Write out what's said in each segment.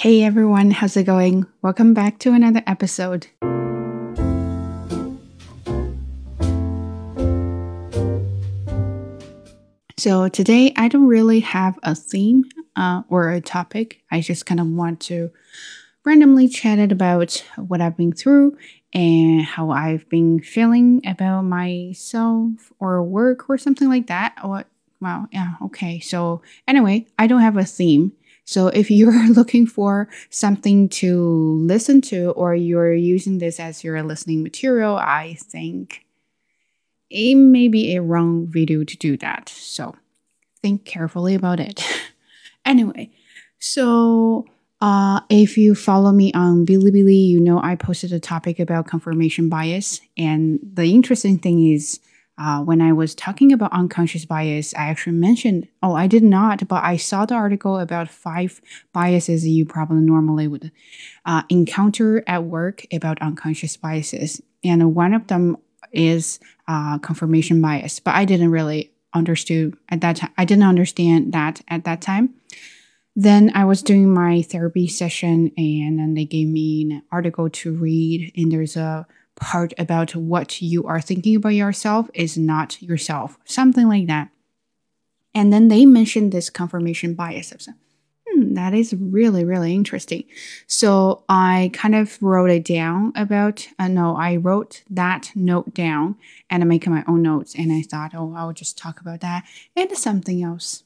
Hey everyone, how's it going? Welcome back to another episode. So today I don't really have a theme or a topic. I just kind of want to randomly chat about what I've been through and how I've been feeling about myself or work or something like that. Okay. So anyway, I don't have a theme. So if you're looking for something to listen to or you're using this as your listening material, I think it may be a wrong video to do that. So think carefully about it. Anyway, so if you follow me on Bilibili, you know I posted a topic about confirmation bias. And the interesting thing is, when I was talking about unconscious bias, I actually mentioned, I did not, but I saw the article about 5 biases you probably normally would encounter at work about unconscious biases. And one of them is confirmation bias, but I didn't really understand at that time. I didn't understand that at that time. Then I was doing my therapy session and then they gave me an article to read, and there's a part about what you are thinking about yourself is not yourself, something like that. And then they mentioned this confirmation bias. I was like, that is really, really interesting. So I kind of wrote it down I wrote that note down and I'm making my own notes. And I thought, I'll just talk about that and something else.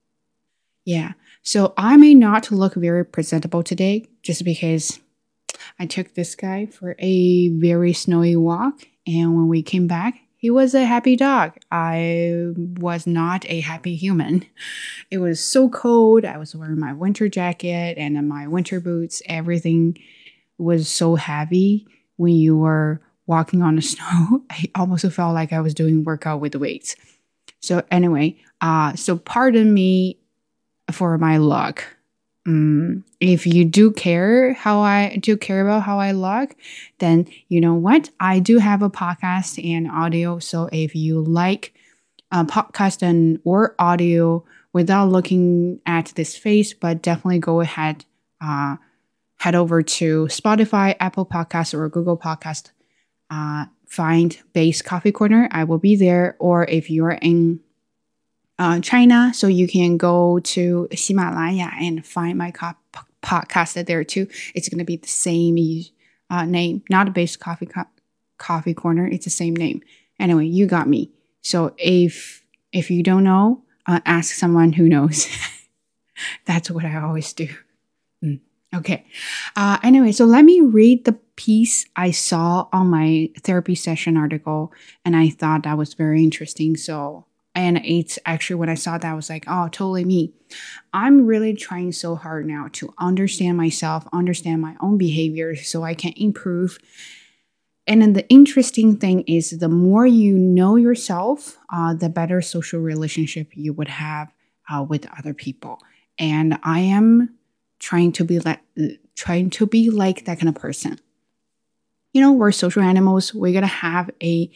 Yeah. So I may not look very presentable today just because I took this guy for a very snowy walk. And when we came back, he was a happy dog. I was not a happy human. It was so cold. I was wearing my winter jacket and my winter boots. Everything was so heavy when you were walking on the snow. I almost felt like I was doing workout with weights. So anyway, so pardon me for my look. If you do care about how I look, then you know what? I do have a podcast and audio. So if you like a podcast or audio without looking at this face, but definitely go ahead, head over to Spotify, Apple Podcasts, or Google Podcast. Find Base Coffee Corner. I will be there. Or if you're in China, so you can go to Himalaya and find my podcast there too. It's going to be the same name, not a Base Coffee Corner. It's the same name. Anyway, you got me. So if you don't know, ask someone who knows. That's what I always do. Okay. Anyway, so let me read the piece I saw on my therapy session article, and I thought that was very interesting. And it's actually when I saw that, I was like, totally me. I'm really trying so hard now to understand myself, understand my own behaviors so I can improve. And then the interesting thing is the more you know yourself, the better social relationship you would have with other people. And I am trying to be like that kind of person. You know, we're social animals. We're going to have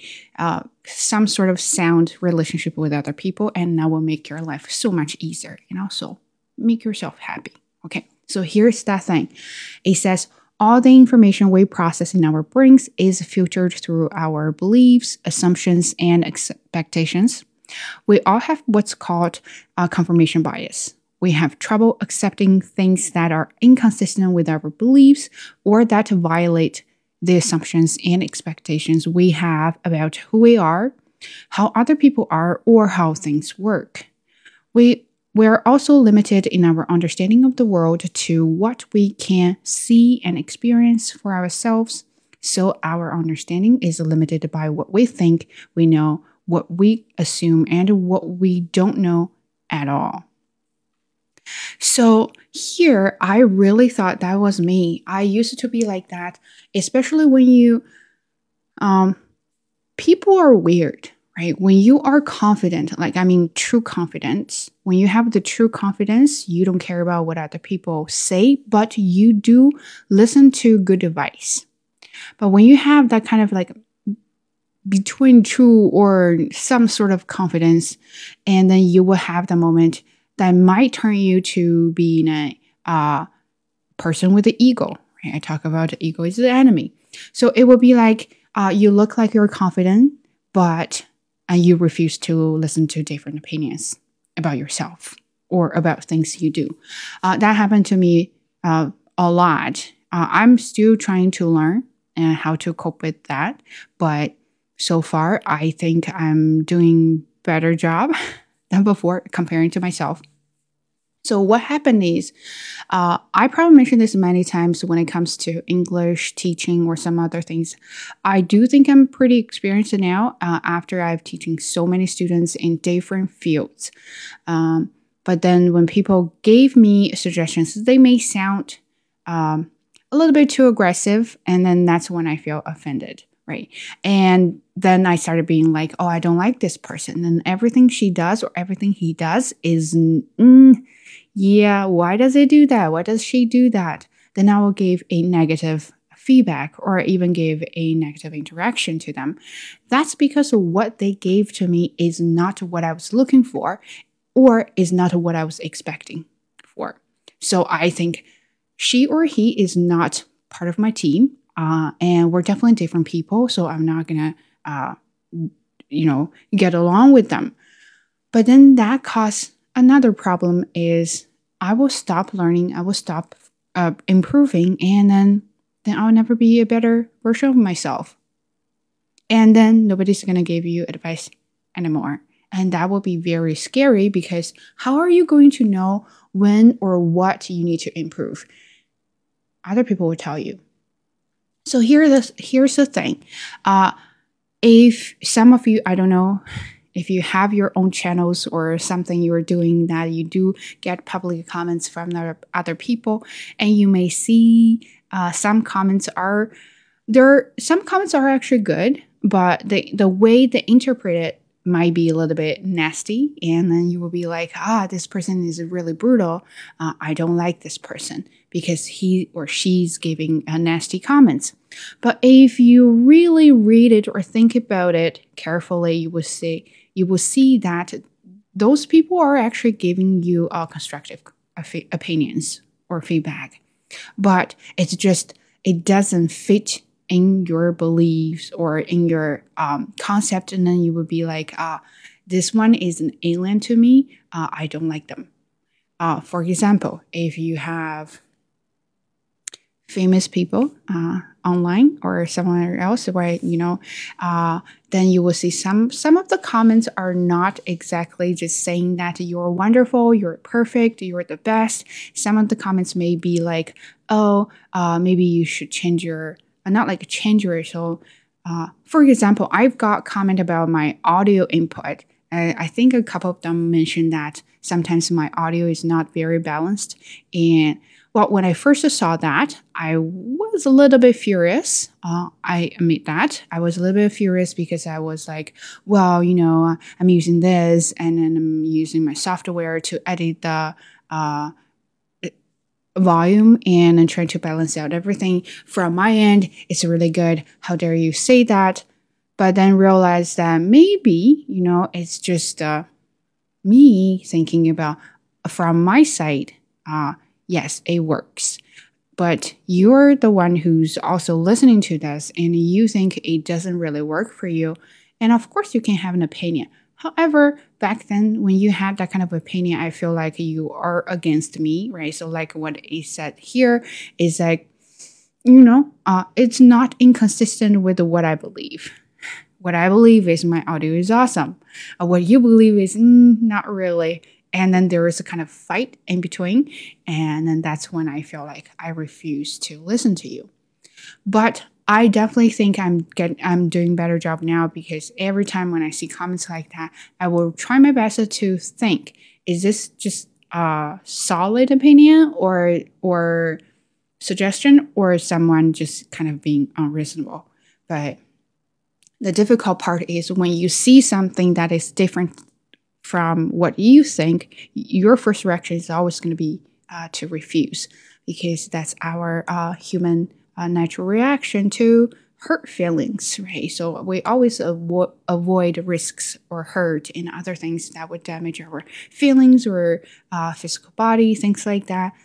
some sort of sound relationship with other people, and that will make your life so much easier, so make yourself happy. Okay, so here's that thing. It says, all the information we process in our brains is filtered through our beliefs, assumptions, and expectations. We all have what's called confirmation bias. We have trouble accepting things that are inconsistent with our beliefs or that violate the assumptions and expectations we have about who we are, how other people are, or how things work. We're also limited in our understanding of the world to what we can see and experience for ourselves. So our understanding is limited by what we think we know, what we assume, and what we don't know at all. So here, I really thought that was me. I used to be like that, especially when people are weird, right? When you are confident, true confidence, when you have the true confidence, you don't care about what other people say, but you do listen to good advice. But when you have that kind of between true or some sort of confidence, and then you will have the moment that might turn you to being a person with the ego. Right? I talk about the ego is the enemy. So it would be like you look like you're confident, but you refuse to listen to different opinions about yourself or about things you do. That happened to me a lot. I'm still trying to learn how to cope with that, but so far I think I'm doing better job than before comparing to myself. So what happened is, I probably mentioned this many times when it comes to English teaching or some other things. I do think I'm pretty experienced now after I've teaching so many students in different fields. But then when people gave me suggestions, they may sound a little bit too aggressive, and then that's when I feel offended. Right. And then I started being like, oh, I don't like this person. And everything she does or everything he does is, yeah, why does it do that? Why does she do that? Then I will give a negative feedback or even give a negative interaction to them. That's because what they gave to me is not what I was looking for or is not what I was expecting for. So I think she or he is not part of my team. And we're definitely different people, so I'm not gonna, get along with them. But then that causes another problem is I will stop learning, I will stop improving, and then I'll never be a better version of myself. And then nobody's gonna give you advice anymore. And that will be very scary because how are you going to know when or what you need to improve? Other people will tell you. So here's the thing. If some of you, I don't know, if you have your own channels or something you're doing that you do get public comments from other people, and you may see some comments are actually good, but the way they interpret it might be a little bit nasty, and then you will be like, this person is really brutal. I don't like this person because he or she's giving nasty comments. But if you really read it or think about it carefully, you will see that those people are actually giving you constructive opinions or feedback. But it's just, it doesn't fit in your beliefs or in your concept, and then you would be like, this one is an alien to me. I don't like them. For example, if you have famous people online or somewhere else where then you will see some of the comments are not exactly just saying that you're wonderful, you're perfect, you're the best. Some of the comments may be like, maybe you should change your so for example, I've got comment about my audio input. I think a couple of them mentioned that sometimes my audio is not very balanced. And well, when I first saw that, I was a little bit furious. I admit that. I was a little bit furious because I was like, well, I'm using this and then I'm using my software to edit the volume and I'm trying to balance out everything. From my end, it's really good. How dare you say that? But then realize that maybe, it's just me thinking about from my side, yes, it works. But you're the one who's also listening to this and you think it doesn't really work for you. And of course, you can have an opinion. However, back then, when you had that kind of opinion, I feel like you are against me, right? So like what he said here is like, it's not inconsistent with what I believe. What I believe is my audio is awesome. What you believe is not really. And then there is a kind of fight in between. And then that's when I feel like I refuse to listen to you. But I definitely think I'm doing a better job now because every time when I see comments like that, I will try my best to think, is this just a solid opinion or suggestion or someone just kind of being unreasonable? But the difficult part is when you see something that is different from what you think, your first reaction is always going to be to refuse because that's our human natural reaction to hurt feelings, right? So we always avoid risks or hurt and other things that would damage our feelings or physical body, things like that.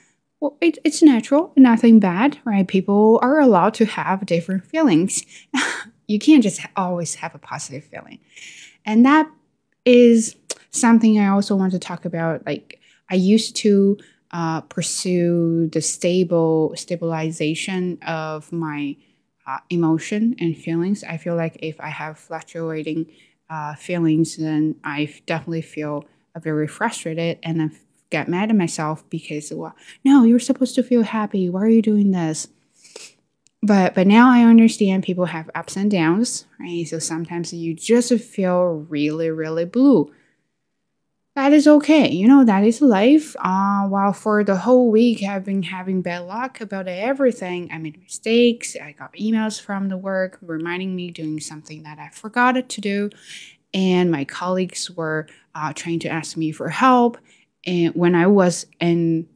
Well, it's natural, nothing bad, right? People are allowed to have different feelings. You can't just always have a positive feeling. And that is something I also want to talk about. Like, I used to pursue the stabilization of my emotion and feelings. I feel like if I have fluctuating feelings, then I definitely feel very frustrated and I get mad at myself because, well, no, you're supposed to feel happy. Why are you doing this? But now I understand people have ups and downs, right? So sometimes you just feel really, really blue. That is okay. That is life. While for the whole week I've been having bad luck about everything. I made mistakes. I got emails from the work reminding me doing something that I forgot to do. And my colleagues were trying to ask me for help. And when I was in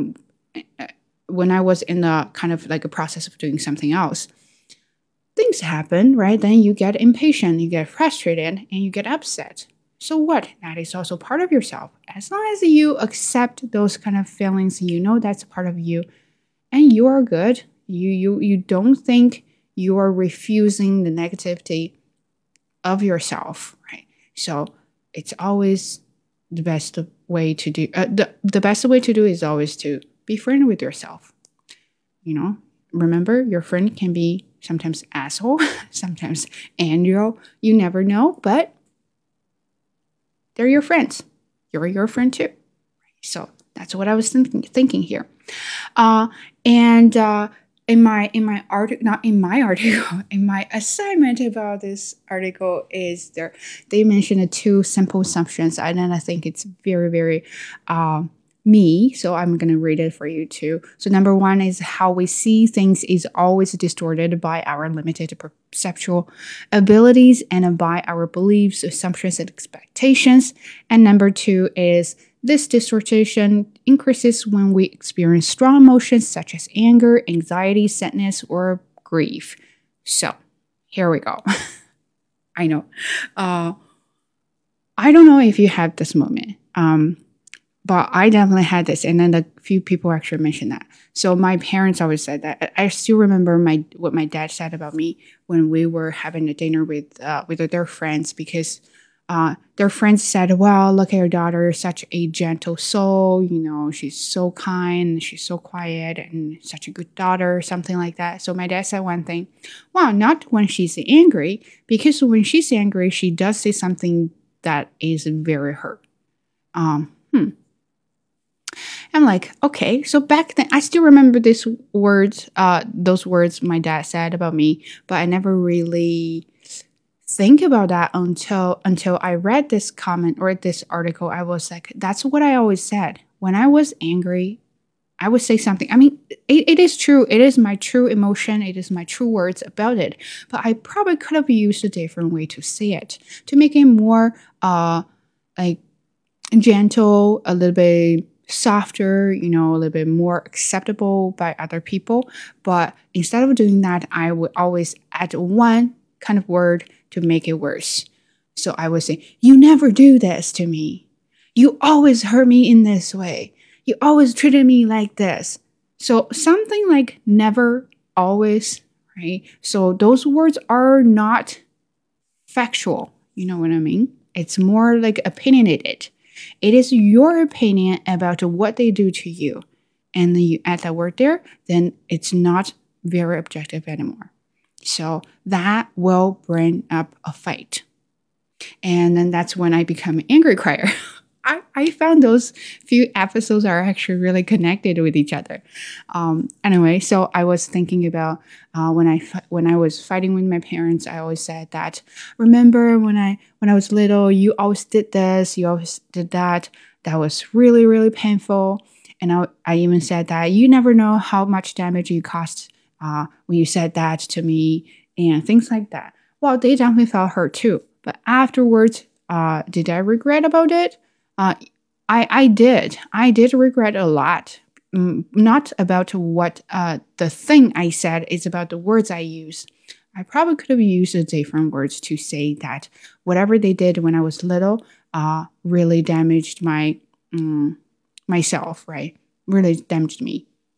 the kind of like a process of doing something else, things happen, right? Then you get impatient, you get frustrated, and you get upset. So what? That is also part of yourself. As long as you accept those kind of feelings, that's a part of you, and you are good. You don't think you are refusing the negativity of yourself, right? So it's always the best way to do. The best way to do is always to be friendly with yourself. Remember, your friend can be sometimes asshole, sometimes angel. You never know, but they're your friends. You're your friend too. So that's what I was thinking here. And in my article, not in my article, in my assignment about this article is they mentioned two simple assumptions, and then I think it's very, very me. So I'm going to read it for you too. So number one is how we see things is always distorted by our limited perceptual abilities and by our beliefs, assumptions, and expectations. And number two is this distortion increases when we experience strong emotions such as anger, anxiety, sadness, or grief. So here we go. I know. I don't know if you had this moment. But I definitely had this, and then a few people actually mentioned that. So my parents always said that. I still remember what my dad said about me when we were having a dinner with their friends, because their friends said, "Well, look at your daughter, such a gentle soul. She's so kind, she's so quiet, and such a good daughter," something like that. So my dad said one thing, "Well, not when she's angry, because when she's angry, she does say something that is very hurt." I'm like, okay. So back then, I still remember those words my dad said about me, but I never really think about that until I read this comment or this article. I was like, that's what I always said. When I was angry, I would say something. I mean, it is true. It is my true emotion. It is my true words about it. But I probably could have used a different way to say it, to make it more like gentle, a little bit softer, a little bit more acceptable by other people. But instead of doing that, I would always add one kind of word to make it worse. So I would say, "You never do this to me. You always hurt me in this way. You always treated me like this." So something like never, always, right? So those words are not factual. You know what I mean? It's more like opinionated. It is your opinion about what they do to you. And then you add that word there, then it's not very objective anymore. So that will bring up a fight. And then that's when I become an angry crier. I found those few episodes are actually really connected with each other. Anyway, so I was thinking about when I was fighting with my parents, I always said that, "Remember when I was little, you always did this, you always did that. That was really, really painful." And I even said that, "You never know how much damage you caused when you said that to me," and things like that. Well, they definitely felt hurt too. But afterwards, did I regret about it? I did. I did regret a lot. Not about what the thing I said, it's about the words I use. I probably could have used different words to say that whatever they did when I was little really damaged myself, right? Really damaged me.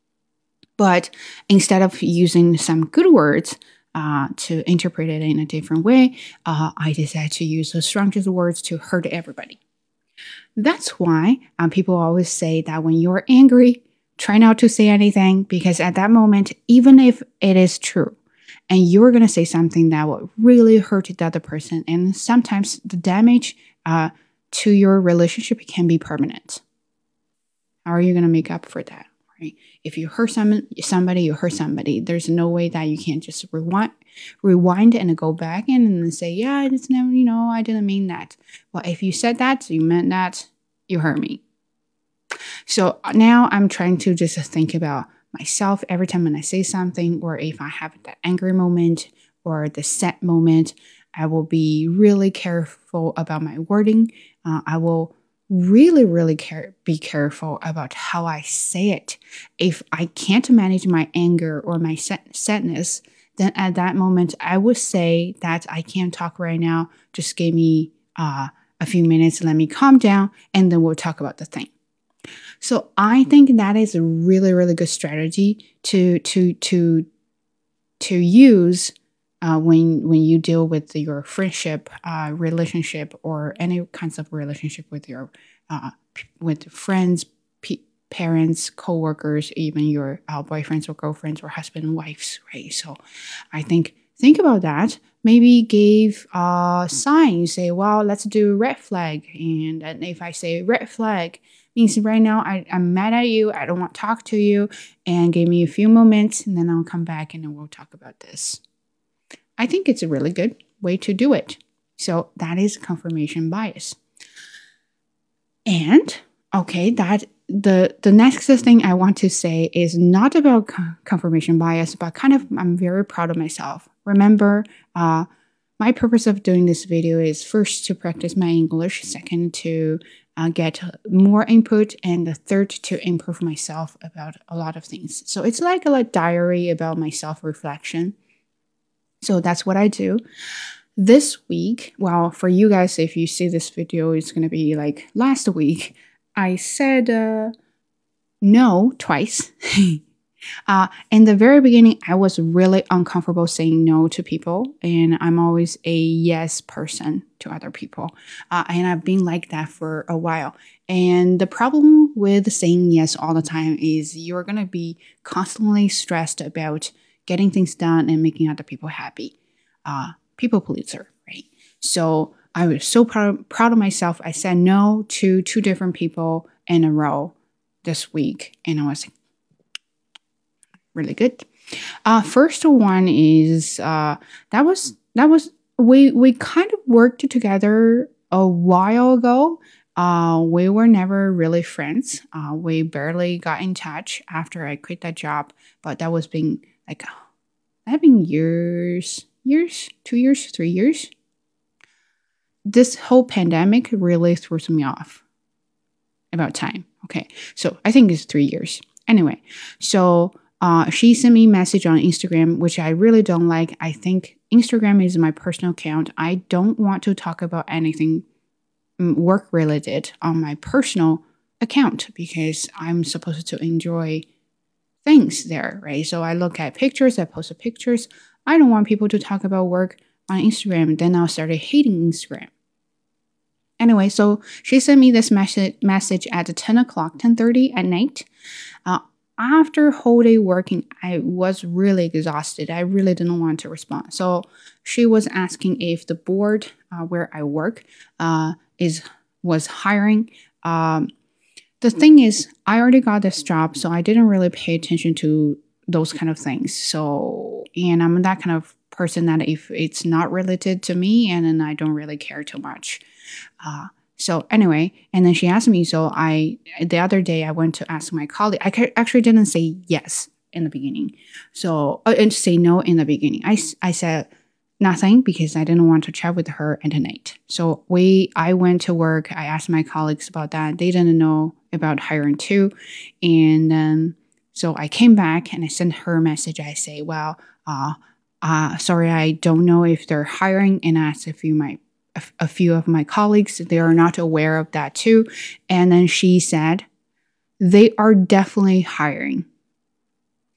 But instead of using some good words to interpret it in a different way, I decided to use the strongest words to hurt everybody. That's why people always say that when you're angry, try not to say anything, because at that moment, even if it is true, and you're going to say something that will really hurt the other person, and sometimes the damage to your relationship can be permanent. How are you going to make up for that? Right? If you hurt somebody, you hurt somebody. There's no way that you can't just rewind and go back in and say, yeah, it's never, I didn't mean that. Well, if you said that, you meant that, you hurt me. So now I'm trying to just think about myself every time when I say something, or if I have that angry moment or the sad moment, I will be really careful about my wording. I will really be careful about how I say it. If I can't manage my anger or my sadness, then at that moment, I would say that I can't talk right now. Just give me a few minutes, let me calm down, and then we'll talk about the thing. So I think that is a really good strategy to use when you deal with your friendship, relationship, or any kinds of relationship with your with friends, parents, coworkers, even your boyfriends or girlfriends or husband and wives, right? So I think about that. Maybe give a sign. You say, well, let's do red flag. And if I say red flag, means right now I'm mad at you, I don't want to talk to you, and give me a few moments, and then I'll come back and then we'll talk about this. I think it's a really good way to do it. So that is confirmation bias. And okay, that the next thing I want to say is not about confirmation bias, but kind of I'm very proud of myself. Remember, my purpose of doing this video is first to practice my English, second to get more input, and the third to improve myself about a lot of things. So it's like a diary about my self-reflection. So that's what I do. This week, well, for you guys, if you see this video, it's going to be like last week, I said no twice. In the very beginning, I was really uncomfortable saying no to people, and I'm always a yes person to other people. And I've been like that for a while. And the problem with saying yes all the time is you're going to be constantly stressed about getting things done and making other people happy. People pleaser, right? So I was so proud of myself. I said no to 2 different people in a row this week, and I was really good. First one is we kind of worked together a while ago. We were never really friends. We barely got in touch after I quit that job, but that was been years, 2 years, 3 years. This whole pandemic really throws me off about time. Okay, so I think it's 3 years. Anyway, so she sent me a message on Instagram, which I really don't like. I think Instagram is my personal account. I don't want to talk about anything work related on my personal account because I'm supposed to enjoy things there, right? So I look at pictures, I post pictures. I don't want people to talk about work on Instagram. Then I started hating Instagram. Anyway, so she sent me this message at 10:30 at night. After a whole day working, I was really exhausted. I really didn't want to respond. So she was asking if the board where I work was hiring. The thing is, I already got this job, so I didn't really pay attention to those kind of things. So, and I'm that kind of person that if it's not related to me, and then I don't really care too much. So anyway, and then she asked me, so the other day I went to ask my colleague. I actually didn't say yes in the beginning. So, and say no in the beginning. I said nothing because I didn't want to chat with her at night. So I went to work. I asked my colleagues about that. They didn't know about hiring too. And then, so I came back and I sent her a message. I say, well, sorry, I don't know if they're hiring, and I asked a few of my colleagues, they are not aware of that too. And then she said, they are definitely hiring.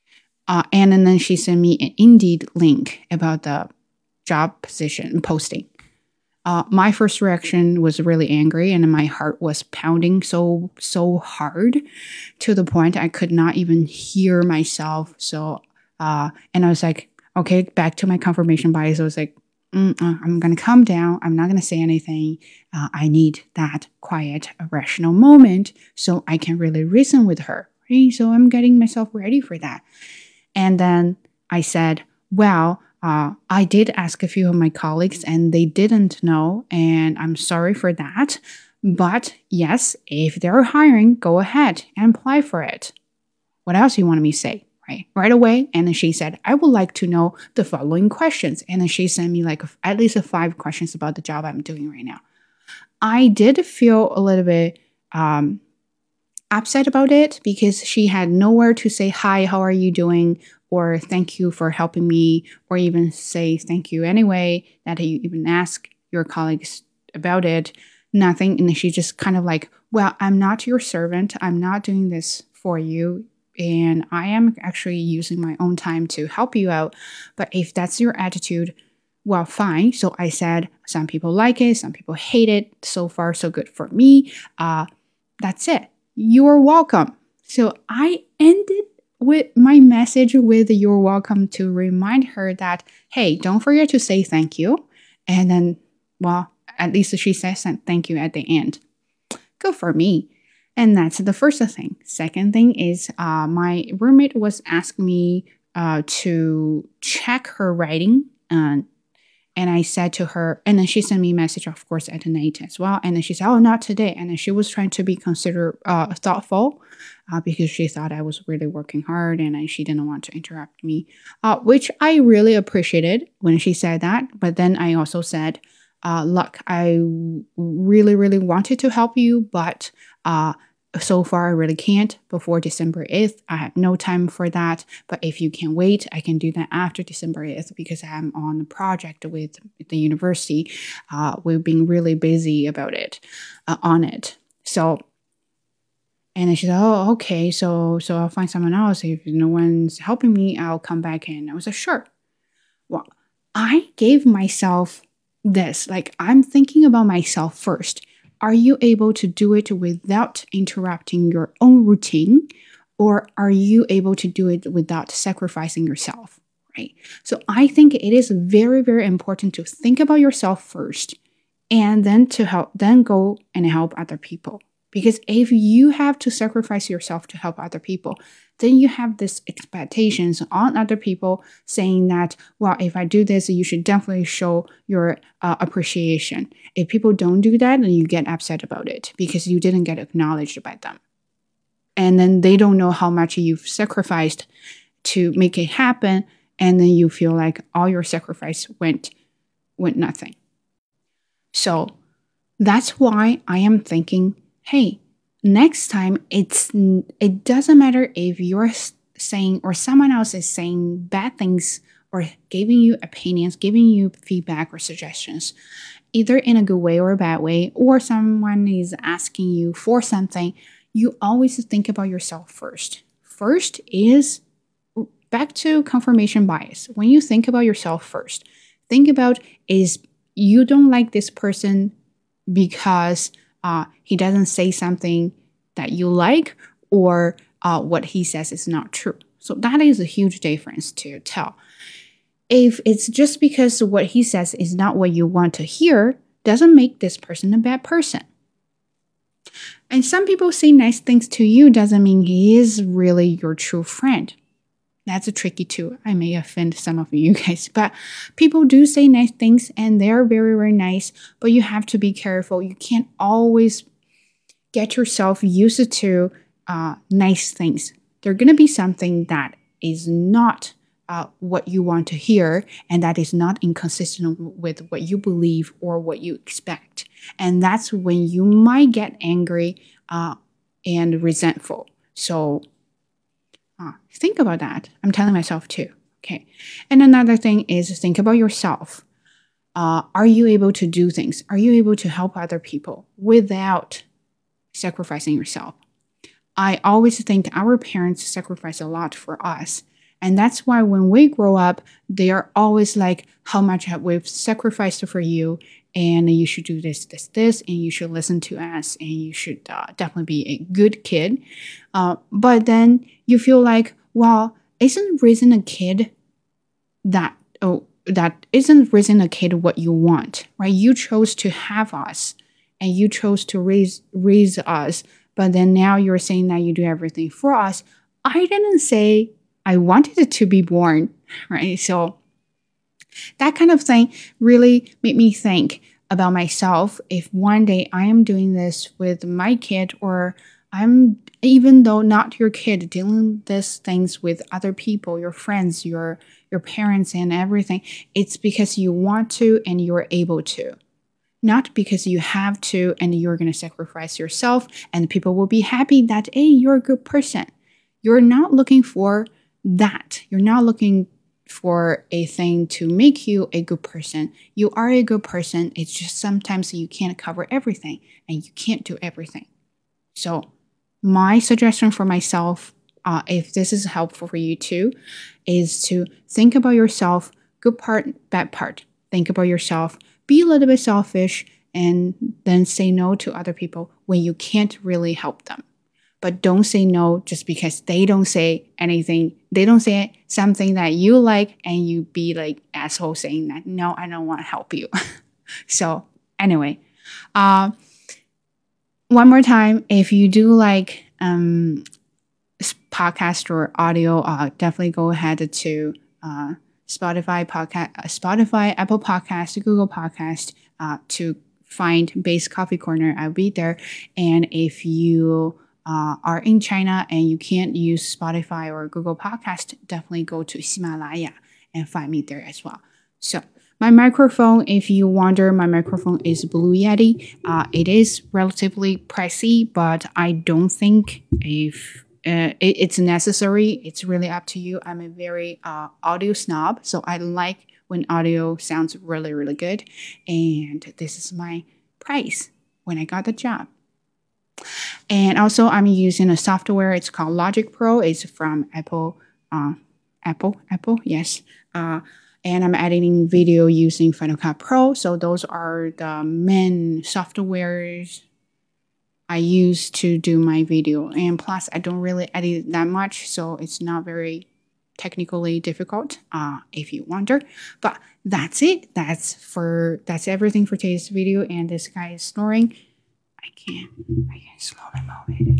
And then she sent me an Indeed link about the job position posting. My first reaction was really angry, and my heart was pounding so hard to the point I could not even hear myself. And I was like, okay, back to my confirmation bias. I was like, I'm going to calm down. I'm not going to say anything. I need that quiet, rational moment so I can really reason with her. Right? So I'm getting myself ready for that. And then I said, well, I did ask a few of my colleagues and they didn't know, and I'm sorry for that. But yes, if they're hiring, go ahead and apply for it. What else you want me to say? Right away. And then she said, I would like to know the following questions. And then she sent me like at least 5 questions about the job I'm doing right now. I did feel a little bit upset about it because she had nowhere to say, hi, how are you doing? Or thank you for helping me, or even say thank you anyway, that you even ask your colleagues about it. Nothing. And she just kind of like, well, I'm not your servant. I'm not doing this for you. And I am actually using my own time to help you out. But if that's your attitude, well, fine. So I said, some people like it, some people hate it. So far, so good for me. That's it. You're welcome. So I ended with my message with you're welcome to remind her that, hey, don't forget to say thank you. And then, well, at least she says thank you at the end. Good for me. And that's the first thing. Second thing is my roommate was asking me to check her writing. And I said to her, and then she sent me a message, of course, at night as well. And then she said, oh, not today. And then she was trying to be thoughtful because she thought I was really working hard and she didn't want to interrupt me, which I really appreciated when she said that. But then I also said, look, I really, really wanted to help you, but so far I really can't before December 8th. I have no time for that. But if you can wait, I can do that after December 8th because I'm on a project with the university. We've been really busy about it, on it. So, and then she said, oh, okay. So I'll find someone else. If no one's helping me, I'll come back in. I was like, sure. Well, I gave myself this, like I'm thinking about myself first. Are you able to do it without interrupting your own routine? Or are you able to do it without sacrificing yourself? Right? So I think it is very, very important to think about yourself first and then then go and help other people. Because if you have to sacrifice yourself to help other people, then you have these expectations on other people saying that, well, if I do this, you should definitely show your appreciation. If people don't do that, then you get upset about it because you didn't get acknowledged by them. And then they don't know how much you've sacrificed to make it happen. And then you feel like all your sacrifice went nothing. So that's why I am thinking, hey, next time it doesn't matter if you're saying or someone else is saying bad things or giving you opinions, giving you feedback or suggestions, either in a good way or a bad way, or someone is asking you for something, you always think about yourself first. First is back to confirmation bias. When you think about yourself first, think about is you don't like this person because he doesn't say something that you like, or what he says is not true. So that is a huge difference to tell. If it's just because what he says is not what you want to hear, doesn't make this person a bad person. And some people say nice things to you doesn't mean he is really your true friend. That's a tricky too. I may offend some of you guys, but people do say nice things and they're very, very nice, but you have to be careful. You can't always get yourself used to nice things. There's going to be something that is not what you want to hear, and that is not inconsistent with what you believe or what you expect. And that's when you might get angry and resentful. So think about that. I'm telling myself too. Okay. And another thing is think about yourself. Are you able to do things? Are you able to help other people without sacrificing yourself? I always think our parents sacrifice a lot for us. And that's why when we grow up, they are always like, how much have we've sacrificed for you, and you should do this, this, this, and you should listen to us, and you should definitely be a good kid. But then you feel like, well, isn't raising a kid that isn't raising a kid what you want, right? You chose to have us, and you chose to raise us, but then now you're saying that you do everything for us. I didn't say I wanted it to be born, right? So that kind of thing really made me think about myself. If one day I am doing this with my kid, or I'm, even though not your kid, dealing these things with other people, your friends, your parents and everything, it's because you want to and you're able to. Not because you have to and you're going to sacrifice yourself and people will be happy that, hey, you're a good person. You're not looking for that. You're not looking for a thing to make you a good person. You are a good person. It's just sometimes you can't cover everything and you can't do everything. So my suggestion for myself, if this is helpful for you too, is to think about yourself, good part, bad part. Think about yourself, be a little bit selfish, and then say no to other people when you can't really help them. But don't say no just because they don't say anything. They don't say something that you like, and you be like asshole saying that, no, I don't want to help you. So anyway, one more time, if you do like podcast or audio, definitely go ahead to Spotify, Apple Podcast, Google Podcast to find Base Coffee Corner. I'll be there. And if you are in China and you can't use Spotify or Google Podcast, definitely go to Himalaya and find me there as well. So my microphone, if you wonder, my microphone is Blue Yeti. It is relatively pricey, but I don't think if it's necessary. It's really up to you. I'm a very audio snob, so I like when audio sounds really, really good. And this is my price when I got the job. And also, I'm using a software. It's called Logic Pro. It's from Apple. Yes. And I'm editing video using Final Cut Pro. So those are the main softwares I use to do my video. And plus, I don't really edit that much, so it's not very technically difficult, if you wonder. But that's it. That's everything for today's video. And this guy is snoring. I can slowly move it.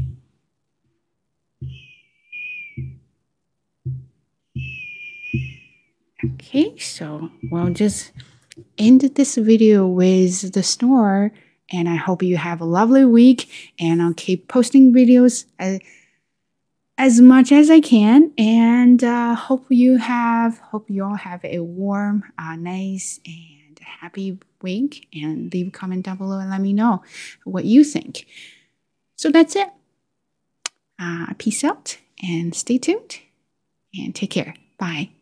Okay, so we'll just end this video with the snore, and I hope you have a lovely week, and I'll keep posting videos as much as I can, and hope you all have a warm, nice, and happy week, and leave a comment down below and let me know what you think. So that's it. Peace out, and stay tuned, and take care. Bye.